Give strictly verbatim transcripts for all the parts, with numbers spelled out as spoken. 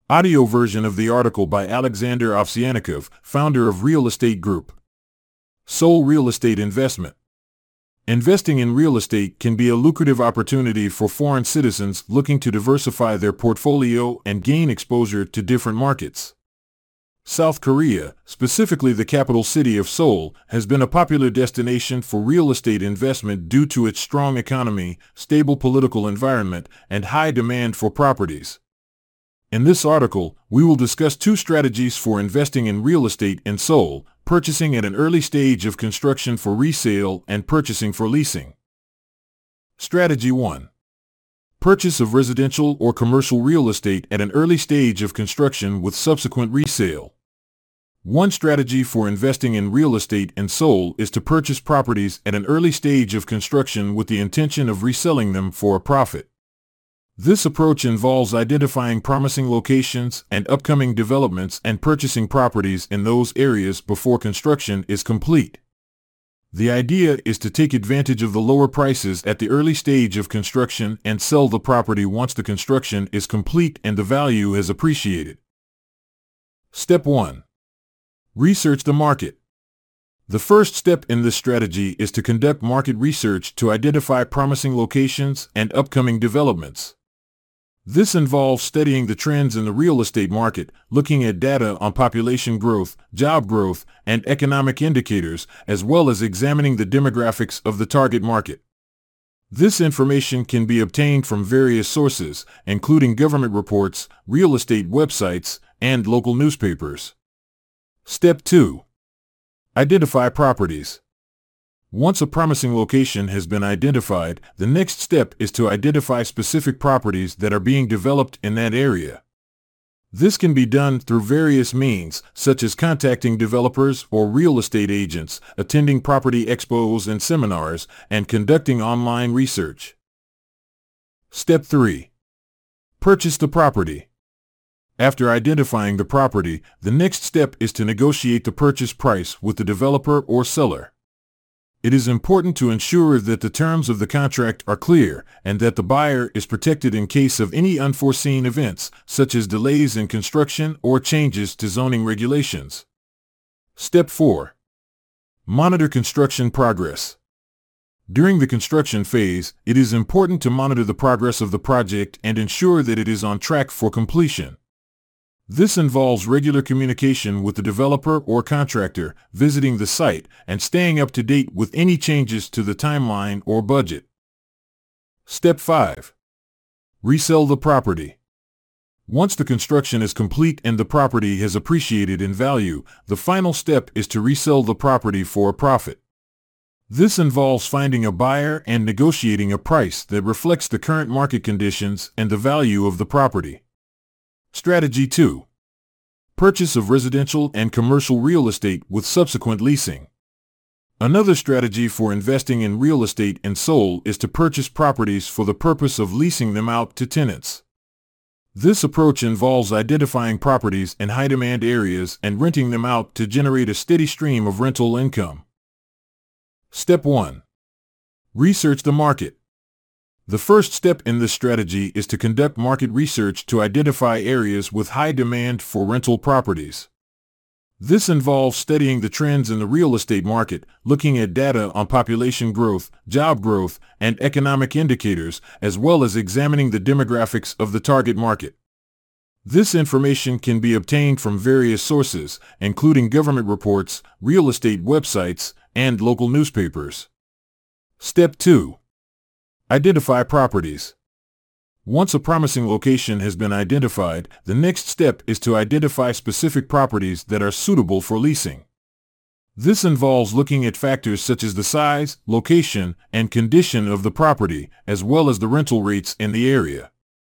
Audio version of the article by Alexander Ovsyannikov, founder of Real Estate Group. Soul Real Estate Investment. Investing in real estate can be a lucrative opportunity for foreign citizens looking to diversify their portfolio and gain exposure to different markets. South Korea, specifically the capital city of Seoul, has been a popular destination for real estate investment due to its strong economy, stable political environment, and high demand for properties. In this article, we will discuss two strategies for investing in real estate in Seoul: purchasing at an early stage of construction for resale and purchasing for leasing. Strategy one. Purchase of residential or commercial real estate at an early stage of construction with subsequent resale. One strategy for investing in real estate in Seoul is to purchase properties at an early stage of construction with the intention of reselling them for a profit. This approach involves identifying promising locations and upcoming developments and purchasing properties in those areas before construction is complete. The idea is to take advantage of the lower prices at the early stage of construction and sell the property once the construction is complete and the value has appreciated. Step one. Research the market. The first step in this strategy is to conduct market research to identify promising locations and upcoming developments. This involves studying the trends in the real estate market, looking at data on population growth, job growth, and economic indicators, as well as examining the demographics of the target market. This information can be obtained from various sources, including government reports, real estate websites, and local newspapers. Step two. Identify properties. Once a promising location has been identified, the next step is to identify specific properties that are being developed in that area. This can be done through various means, such as contacting developers or real estate agents, attending property expos and seminars, and conducting online research. Step three. Purchase the property. After identifying the property, the next step is to negotiate the purchase price with the developer or seller. It is important to ensure that the terms of the contract are clear and that the buyer is protected in case of any unforeseen events, such as delays in construction or changes to zoning regulations. Step four. Monitor construction progress. During the construction phase, it is important to monitor the progress of the project and ensure that it is on track for completion. This involves regular communication with the developer or contractor, visiting the site, and staying up to date with any changes to the timeline or budget. Step five. Resell the property. Once the construction is complete and the property has appreciated in value, the final step is to resell the property for a profit. This involves finding a buyer and negotiating a price that reflects the current market conditions and the value of the property. Strategy two. Purchase of residential and commercial real estate with subsequent leasing. Another strategy for investing in real estate in Seoul is to purchase properties for the purpose of leasing them out to tenants. This approach involves identifying properties in high-demand areas and renting them out to generate a steady stream of rental income. Step one. Research the market. The first step in this strategy is to conduct market research to identify areas with high demand for rental properties. This involves studying the trends in the real estate market, looking at data on population growth, job growth, and economic indicators, as well as examining the demographics of the target market. This information can be obtained from various sources, including government reports, real estate websites, and local newspapers. Step two. Identify properties. Once a promising location has been identified, the next step is to identify specific properties that are suitable for leasing. This involves looking at factors such as the size, location, and condition of the property, as well as the rental rates in the area.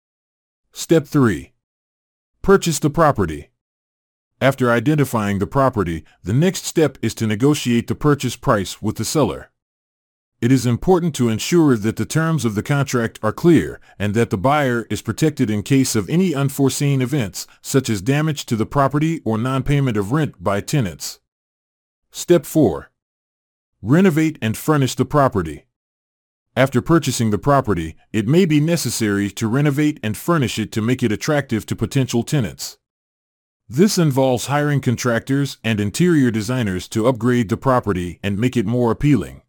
Step three. Purchase the property. After identifying the property, the next step is to negotiate the purchase price with the seller. It is important to ensure that the terms of the contract are clear and that the buyer is protected in case of any unforeseen events, such as damage to the property or non-payment of rent by tenants. Step four. Renovate and furnish the property. After purchasing the property, it may be necessary to renovate and furnish it to make it attractive to potential tenants. This involves hiring contractors and interior designers to upgrade the property and make it more appealing.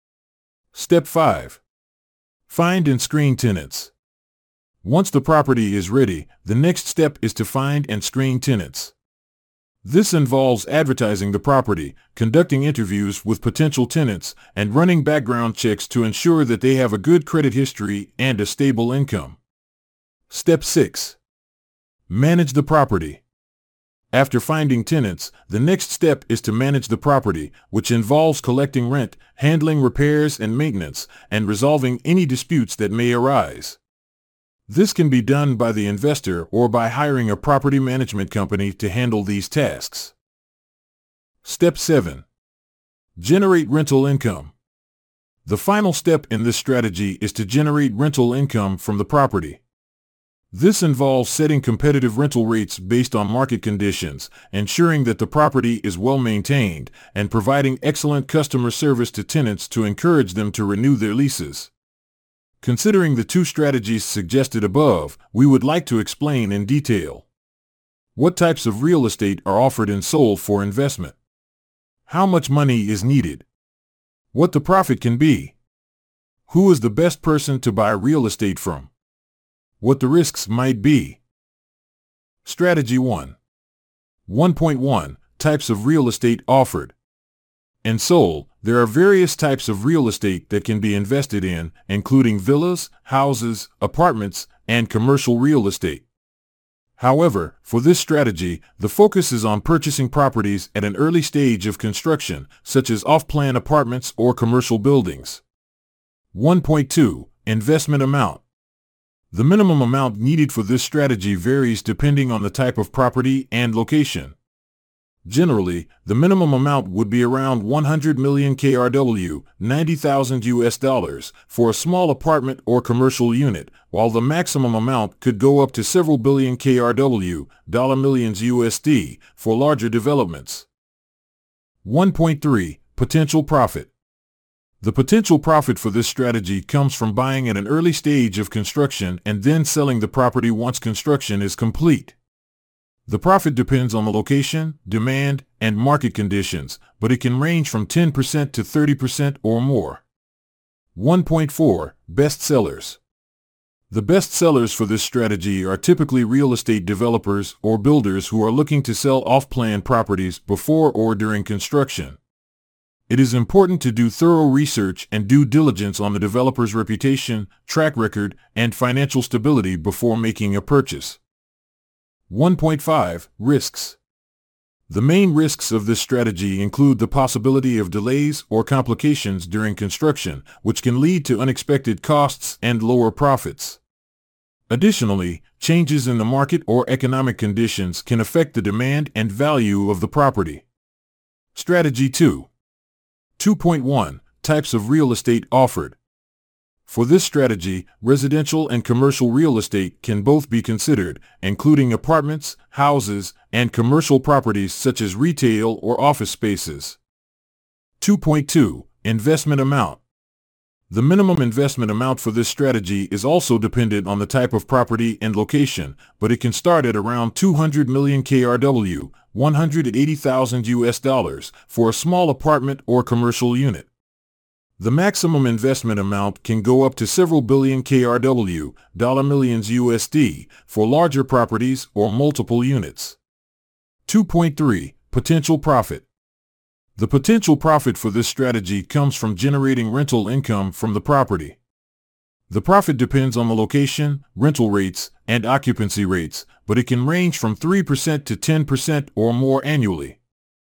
Step five. Find and screen tenants. Once the property is ready, the next step is to find and screen tenants. This involves advertising the property, conducting interviews with potential tenants, and running background checks to ensure that they have a good credit history and a stable income. Step six. Manage the property. After finding tenants, the next step is to manage the property, which involves collecting rent, handling repairs and maintenance, and resolving any disputes that may arise. This can be done by the investor or by hiring a property management company to handle these tasks. Step seven. Generate rental income. The final step in this strategy is to generate rental income from the property. This involves setting competitive rental rates based on market conditions, ensuring that the property is well maintained, and providing excellent customer service to tenants to encourage them to renew their leases. Considering the two strategies suggested above, we would like to explain in detail what types of real estate are offered and sold for investment, how much money is needed, what the profit can be, who is the best person to buy real estate from, what the risks might be. Strategy one. one point one. Types of real estate offered and sold. There are various types of real estate that can be invested in, including villas, houses, apartments, and commercial real estate. However, for this strategy, the focus is on purchasing properties at an early stage of construction, such as off-plan apartments or commercial buildings. one point two. Investment amount. The minimum amount needed for this strategy varies depending on the type of property and location. Generally, the minimum amount would be around one hundred million K R W, ninety thousand U S dollars, for a small apartment or commercial unit, while the maximum amount could go up to several billion K R W, dollar millions U S D, for larger developments. one point three. Potential profit. The potential profit for this strategy comes from buying at an early stage of construction and then selling the property once construction is complete. The profit depends on the location, demand, and market conditions, but it can range from ten percent to thirty percent or more. one point four. Best sellers. The best sellers for this strategy are typically real estate developers or builders who are looking to sell off-plan properties before or during construction. It is important to do thorough research and due diligence on the developer's reputation, track record, and financial stability before making a purchase. one point five. Risks. The main risks of this strategy include the possibility of delays or complications during construction, which can lead to unexpected costs and lower profits. Additionally, changes in the market or economic conditions can affect the demand and value of the property. Strategy two. two point one. Types of real estate offered. For this strategy, residential and commercial real estate can both be considered, including apartments, houses, and commercial properties such as retail or office spaces. two point two. Investment amount. The minimum investment amount for this strategy is also dependent on the type of property and location, but it can start at around two hundred million K R W, one hundred eighty thousand U S dollars, for a small apartment or commercial unit. The maximum investment amount can go up to several billion K R W, dollar millions U S D, for larger properties or multiple units. two point three. Potential profit. The potential profit for this strategy comes from generating rental income from the property. The profit depends on the location, rental rates, and occupancy rates, but it can range from three percent to ten percent or more annually.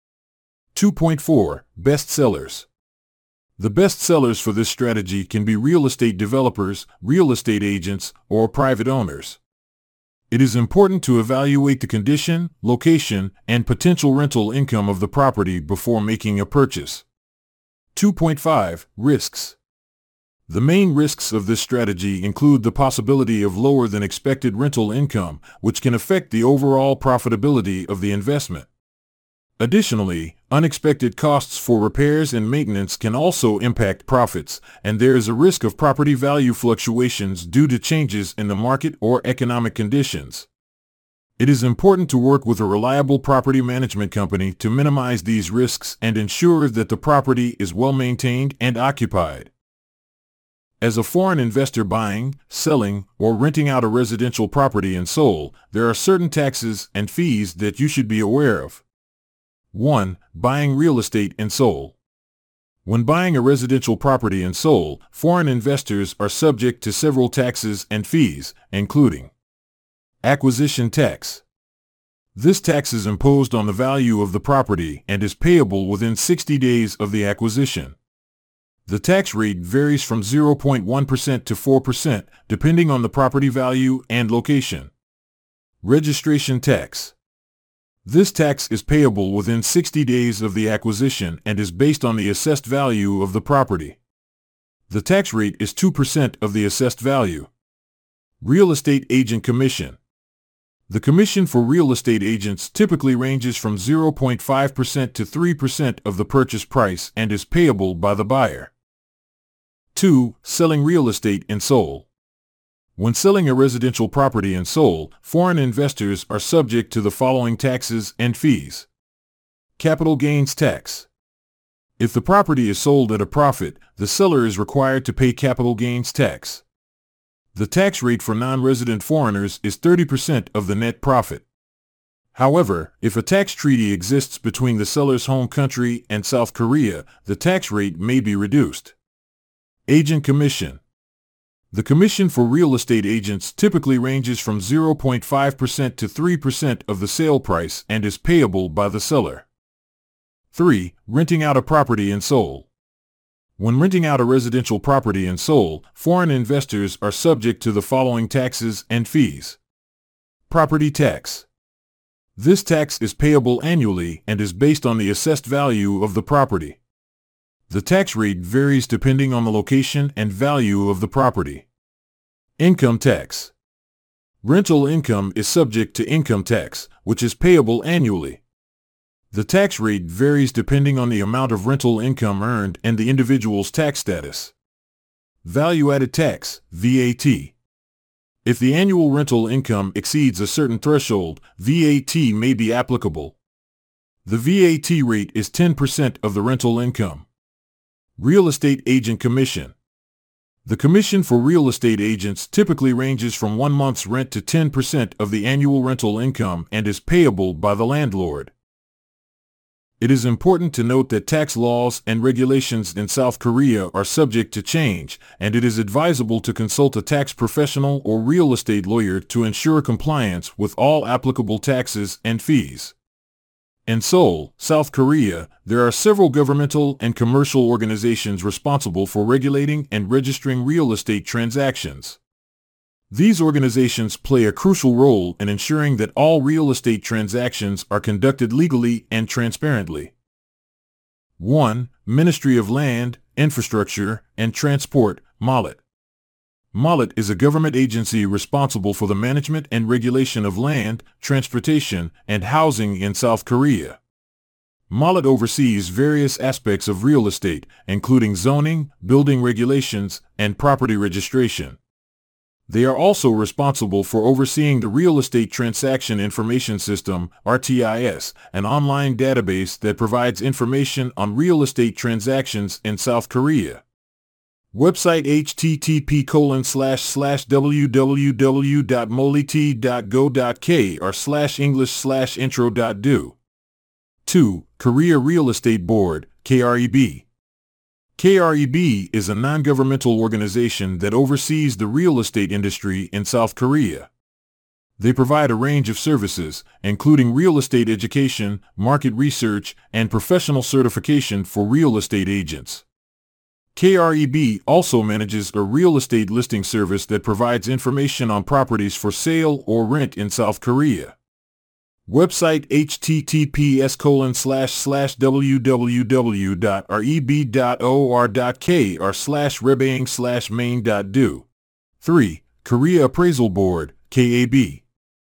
two point four. Best sellers. The best sellers for this strategy can be real estate developers, real estate agents, or private owners. It is important to evaluate the condition, location, and potential rental income of the property before making a purchase. two point five. Risks. The main risks of this strategy include the possibility of lower than expected rental income, which can affect the overall profitability of the investment. Additionally, unexpected costs for repairs and maintenance can also impact profits, and there is a risk of property value fluctuations due to changes in the market or economic conditions. It is important to work with a reliable property management company to minimize these risks and ensure that the property is well maintained and occupied. As a foreign investor buying, selling, or renting out a residential property in Seoul, there are certain taxes and fees that you should be aware of. one. Buying real estate in Seoul. When buying a residential property in Seoul, foreign investors are subject to several taxes and fees, including acquisition tax. This tax is imposed on the value of the property and is payable within sixty days of the acquisition. The tax rate varies from zero point one percent to four percent, depending on the property value and location. Registration tax. This tax is payable within sixty days of the acquisition and is based on the assessed value of the property. The tax rate is two percent of the assessed value. Real estate agent commission. The commission for real estate agents typically ranges from zero point five percent to three percent of the purchase price and is payable by the buyer. two. Selling real estate in Seoul. When selling a residential property in Seoul, foreign investors are subject to the following taxes and fees. Capital gains tax. If the property is sold at a profit, the seller is required to pay capital gains tax. The tax rate for non-resident foreigners is thirty percent of the net profit. However, if a tax treaty exists between the seller's home country and South Korea, the tax rate may be reduced. Agent commission. The commission for real estate agents typically ranges from zero point five percent to three percent of the sale price and is payable by the seller. three. Renting out a property in Seoul. When renting out a residential property in Seoul, foreign investors are subject to the following taxes and fees. Property tax. This tax is payable annually and is based on the assessed value of the property. The tax rate varies depending on the location and value of the property. Income tax. Rental income is subject to income tax, which is payable annually. The tax rate varies depending on the amount of rental income earned and the individual's tax status. Value-added tax, V A T. If the annual rental income exceeds a certain threshold, V A T may be applicable. The V A T rate is ten percent of the rental income. Real estate agent commission. The commission for real estate agents typically ranges from one month's rent to ten percent of the annual rental income and is payable by the landlord. It is important to note that tax laws and regulations in South Korea are subject to change, and it is advisable to consult a tax professional or real estate lawyer to ensure compliance with all applicable taxes and fees. In Seoul, South Korea, there are several governmental and commercial organizations responsible for regulating and registering real estate transactions. These organizations play a crucial role in ensuring that all real estate transactions are conducted legally and transparently. one. Ministry of Land, Infrastructure, and Transport, MOLLET. MOLLET is a government agency responsible for the management and regulation of land, transportation, and housing in South Korea. MOLLET oversees various aspects of real estate, including zoning, building regulations, and property registration. They are also responsible for overseeing the Real Estate Transaction Information System, R T I S, an online database that provides information on real estate transactions in South Korea. Website H T T P colon slash slash w w w dot mollet dot go dot k or slash english slash intro dot do. two. Korea Real Estate Board, K R E B. K R E B is a non-governmental organization that oversees the real estate industry in South Korea. They provide a range of services, including real estate education, market research, and professional certification for real estate agents. K R E B also manages a real estate listing service that provides information on properties for sale or rent in South Korea. Website H T T P S colon slash slash w w w dot r e b dot o r dot k or slash rebang slash main dot do. three. Korea Appraisal Board, K A B.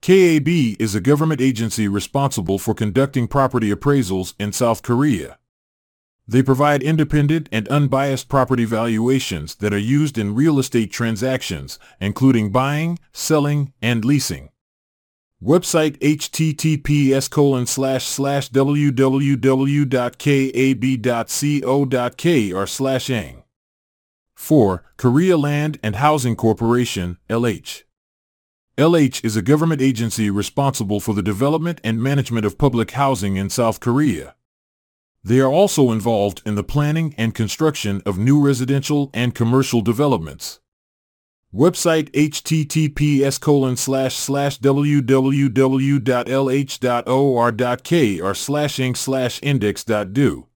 K A B is a government agency responsible for conducting property appraisals in South Korea. They provide independent and unbiased property valuations that are used in real estate transactions, including buying, selling, and leasing. Website H T T P S colon slash slash w w w dot k a b dot co dot k r slash ang. four. Korea Land and Housing Corporation, L H. L H is a government agency responsible for the development and management of public housing in South Korea. They are also involved in the planning and construction of new residential and commercial developments. Website H T T P S colon slash slash w w w dot l h dot o r dot k r slash ang slash index dot do.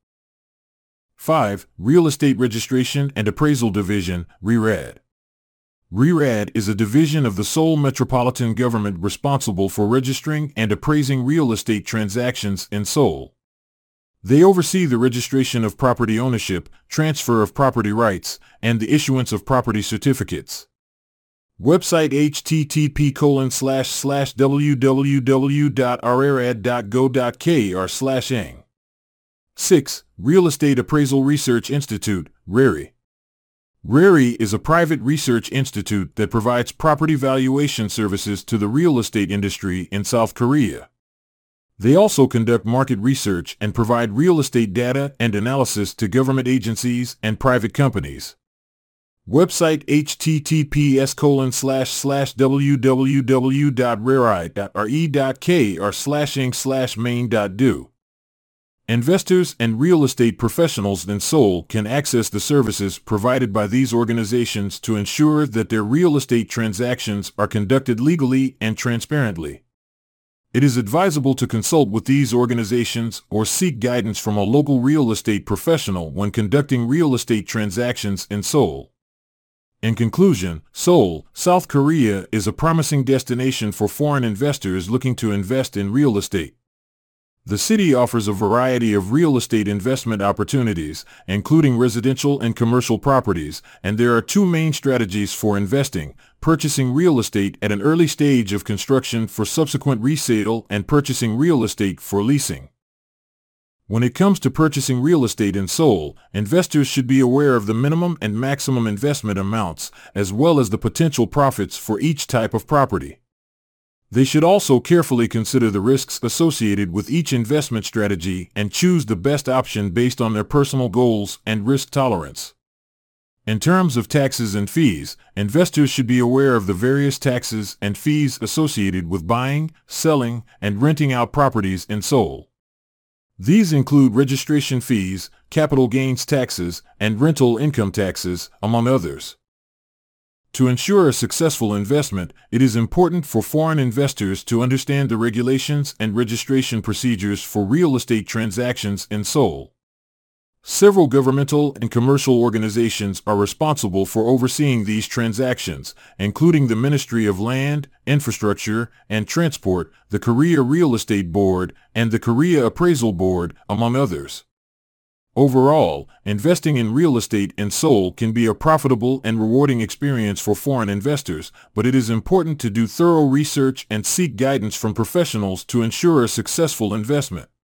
five. Real Estate Registration and Appraisal Division, R E R A D. R E R A D is a division of the Seoul Metropolitan Government responsible for registering and appraising real estate transactions in Seoul. They oversee the registration of property ownership, transfer of property rights, and the issuance of property certificates. Website H T T P colon slash slash w w w dot r e r a d dot go dot k r slash ang. six. Real Estate Appraisal Research Institute, R E R I. R E R I is a private research institute that provides property valuation services to the real estate industry in South Korea. They also conduct market research and provide real estate data and analysis to government agencies and private companies. Website H T T P S colon slash slash w w w dot r e r i dot r e dot k r slash ang slash main dot do. Investors and real estate professionals in Seoul can access the services provided by these organizations to ensure that their real estate transactions are conducted legally and transparently. It is advisable to consult with these organizations or seek guidance from a local real estate professional when conducting real estate transactions in Seoul. In conclusion, Seoul, South Korea is a promising destination for foreign investors looking to invest in real estate. The city offers a variety of real estate investment opportunities, including residential and commercial properties, and there are two main strategies for investing: purchasing real estate at an early stage of construction for subsequent resale and purchasing real estate for leasing. When it comes to purchasing real estate in Seoul, investors should be aware of the minimum and maximum investment amounts, as well as the potential profits for each type of property. They should also carefully consider the risks associated with each investment strategy and choose the best option based on their personal goals and risk tolerance. In terms of taxes and fees, investors should be aware of the various taxes and fees associated with buying, selling, and renting out properties in Seoul. These include registration fees, capital gains taxes, and rental income taxes, among others. To ensure a successful investment, it is important for foreign investors to understand the regulations and registration procedures for real estate transactions in Seoul. Several governmental and commercial organizations are responsible for overseeing these transactions, including the Ministry of Land, Infrastructure, and Transport, the Korea Real Estate Board, and the Korea Appraisal Board, among others. Overall, investing in real estate in Seoul can be a profitable and rewarding experience for foreign investors, but it is important to do thorough research and seek guidance from professionals to ensure a successful investment.